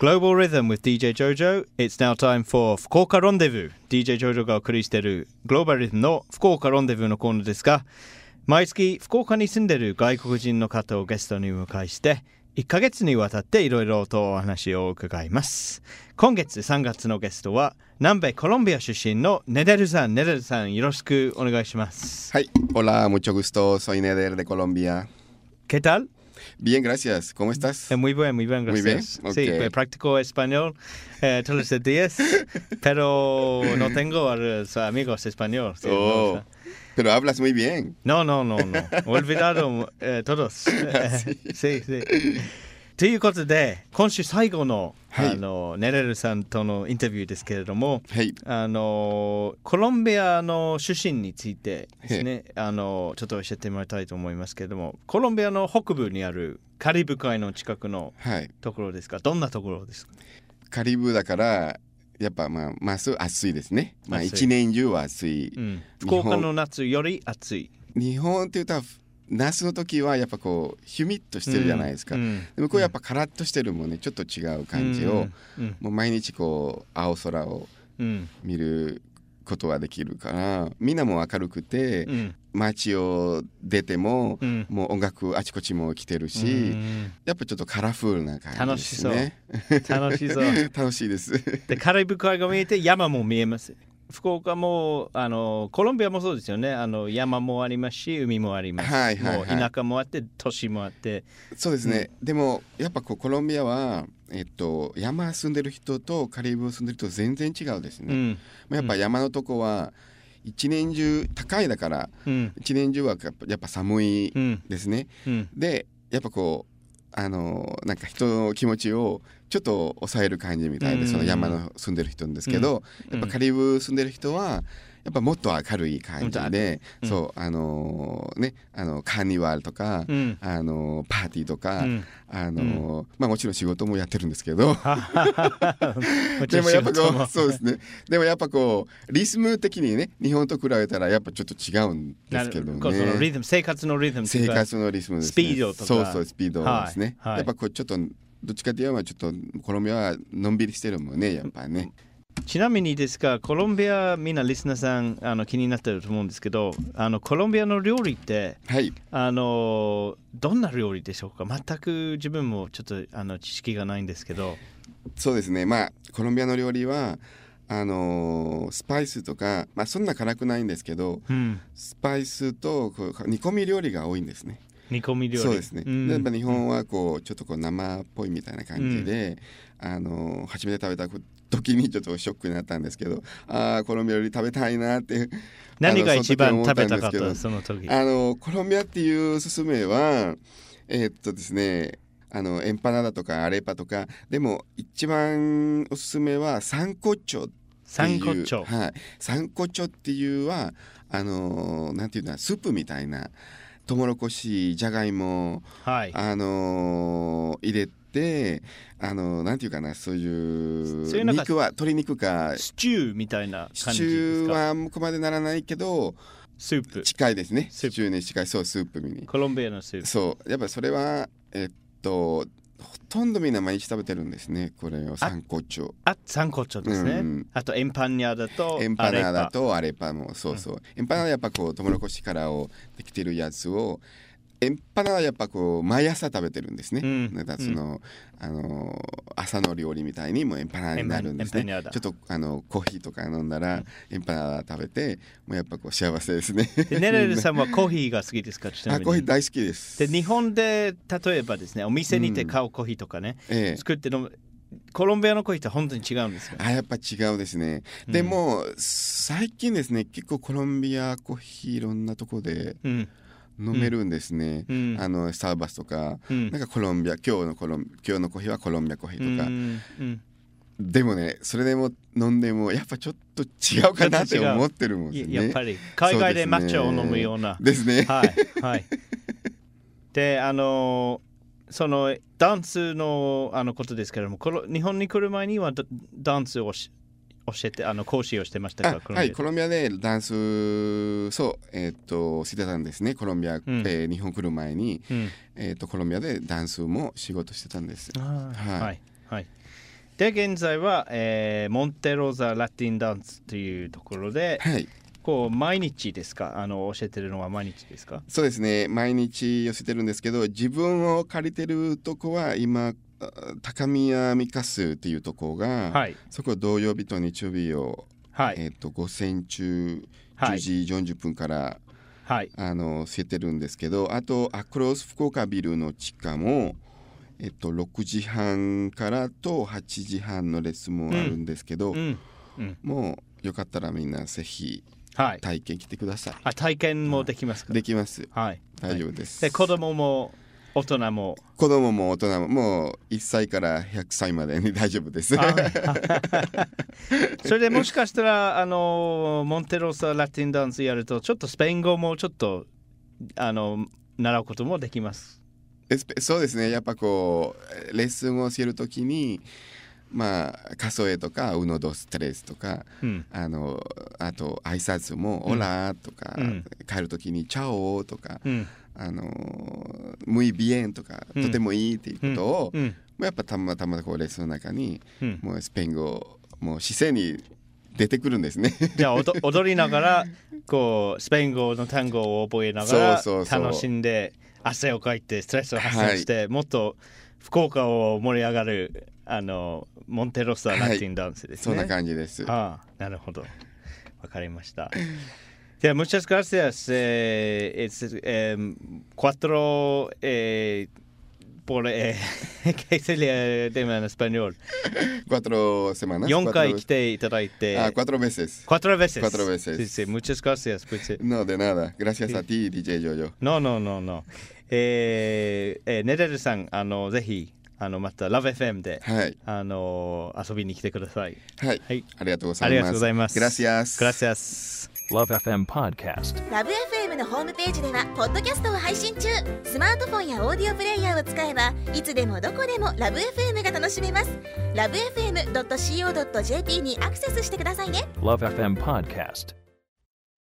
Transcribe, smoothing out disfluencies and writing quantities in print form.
Global Rhythm with DJ Jojo. It's now time for 福岡ロンデブー。DJ Jojo がお送りしている Global Rhythm の福岡ロンデブーのコーナーですが、毎月福岡に住んでいる外国人の方をゲストにお迎えして1ヶ月にわたっていろいろとお話を伺います。今月3月のゲストは南米コロンビア出身のネデルさん。ネデルさん、よろしくお願いします。 はい、hola, mucho gusto, soy Neder de Colombia. ¿Qué tal? Bien, gracias. ¿Cómo estás? Muy bien, gracias. Muy bien, okay. Sí, practico español todos los días, pero no tengo a los amigos españoles. Sí, oh, no, pero hablas muy bien. No. Olvidado todos. Sí. ということで、今週最後の、はい、ネレルさんとのインタビューですけれども、はい、コロンビアの出身についてですね、ちょっと教えてもらいたいと思いますけれども、コロンビアの北部にあるカリブ海の近くのところですか、はい、どんなところですか？ カリブだからやっぱまあ暑いですね。まあ一年中は暑い。 うん、福岡の夏より暑い。 日本って言ったら夏の時はやっぱこうヒュミッとしてるじゃないですか、でもこうやっぱカラッとしてるもんね、ちょっと違う感じを、もう毎日こう青空を見ることはできるから、みんなも明るくて、街を出ても、もう音楽あちこちも来てるし、やっぱちょっとカラフルな感じですね。 楽しそう。 楽しいです。 でカリブ海が見えて山も見えます。福岡もコロンビアもそうですよね。山もありますし海もあります、はいはいはい、もう田舎もあって都市もあって。 そうですね、でもやっぱこうコロンビアは、山住んでる人とカリブ住んでる人全然違うですね、やっぱ山のとこは一年中高いだから、一年中はやっぱ寒いですね、でやっぱこうなんか人の気持ちをちょっと抑える感じみたいで、その山の住んでる人なんですけど、やっぱカリブ住んでる人はやっぱもっと明るい感じで、そうカーニバルとか、パーティーとか、もちろん仕事もやってるんですけどでもやっぱこうそうですね、でもやっぱこうリズム的にね日本と比べたらやっぱちょっと違うんですけどね。 そのリズム、生活のリズムとか生活のリズムですね、 スピードとか、 そうスピードですね、やっぱこうちょっとどっちかというとちょっとコロンビアはのんびりしてるもんね、やっぱね。 ちなみにですが、コロンビアみんなリスナーさん気になってると思うんですけど、コロンビアの料理って、はい、どんな料理でしょうか？全く自分もちょっと知識がないんですけど。 そうですね、コロンビアの料理はスパイスとか、そんな辛くないんですけど、スパイスと煮込み料理が多いんですね。 煮込み料理。 そうですね、やっぱ日本はこうちょっとこう生っぽいみたいな感じで、初めて食べた時にちょっとショックになったんですけど、コロンビア料理食べたいなって何が一番食べたかったその時？ コロンビアっていうおすすめはですね、エンパナダとかアレパとか、でも一番おすすめはサンコチョっていう、サンコチョっていうはなんていうの、スープみたいなトウモロコシ、じゃがいも、はい、入れてなんていうかな、そういう肉は鶏肉かスチューみたいな感じですか？スチューは向こうまでならないけどスープ近いですね。スチューに近い、そうスープにコロンビアのスープ。 そうやっぱそれはほとんどみんな毎日食べてるんですね、これをサンコチョ。 サンコチョですね、あとエンパニャダとアレパもそう、エンパナダはやっぱこうトウモロコシからをできてるやつを、エンパナダはやっぱこう毎朝食べてるんですね、その朝の料理みたいにもうエンパナダになるんですね。ちょっとコーヒーとか飲んだらエンパナダ食べて、もうやっぱこう幸せですね。 でネレルさんはコーヒーが好きですか？ コーヒー大好きです。 で日本で例えばですね、お店にて買うコーヒーとかね、作って飲むコロンビアのコーヒーって本当に違うんですか？ やっぱ違うですね、でも最近ですね、結構コロンビアコーヒーいろんなとこで、飲めるんですね、スターバックスとか、なんかコロンビア、今日のコーヒーはコロンビアコーヒーとか、でもね、それでも飲んでもやっぱちょっと違うかなって思ってるもんですね。 やっぱり海外で抹茶を飲むようなですね。 はいでそのダンスのことですけれども、日本に来る前にはダンスを教えて講師をしてましたか？ はい、コロンビアでダンスしてたんですね。コロンビア、日本来る前に、コロンビアでダンスも仕事してたんです。 はい。 で現在は、モンテローザラティンダンスというところで、 はい、 こう毎日ですか？教えてるのは毎日ですか？ そうですね、毎日寄せてるんですけど、自分を借りてるとこは今高宮ミカスっていうとこが、はい、そこ土曜日と日曜日を、はい、午前中10時40分から、はい、教えてるんですけど、あとアクロス福岡ビルの地下も6時半からと8時半のレッスンもあるんですけど、もうよかったらみんなぜひ体験来てください。 体験もできますか？ できます、はい、大丈夫です。 で子供も大人も大人ももう1歳から100歳までに大丈夫ですそれでもしかしたらモンテローサラティンダンスやるとちょっとスペイン語もちょっと習うこともできます。 そうですね、やっぱこうレッスンを教えるときに数えとかウノドストレスとか、あと挨拶もオラとか、帰るときにチャオとか、ムイビエンとか、とてもいいっていうことを、やっぱたまたまこうレッスンの中に、もうスペイン語もう姿勢に出てくるんですねじゃあ踊りながらこうスペイン語の単語を覚えながら楽しんで汗をかいてストレスを発散して、もっと福岡を盛り上がるモンテローサラティンダンスですね。 そんな感じです。 なるほど、わかりました。じゃあmuchas gracias. Cuatro por ¿qué se le llama en español? 4 semanas. 4回来ていただいて。 4 veces. 4 veces. 4 veces. Sí, sí. Muchas gracias. No, de nada. Gracias a ti, DJ Jojo. No. ネレルさん、ぜひまた LoveFM で、はい、遊びに来てください。 はい。はい、ありがとうございます。ありがとうございます。 Gracias。 LoveFM Podcast。LoveFM のホームページではポッドキャストを配信中。スマートフォンやオーディオプレイヤーを使えばいつでもどこでも LoveFM が楽しめます。LoveFM.co.jp にアクセスしてくださいね。LoveFM Podcast。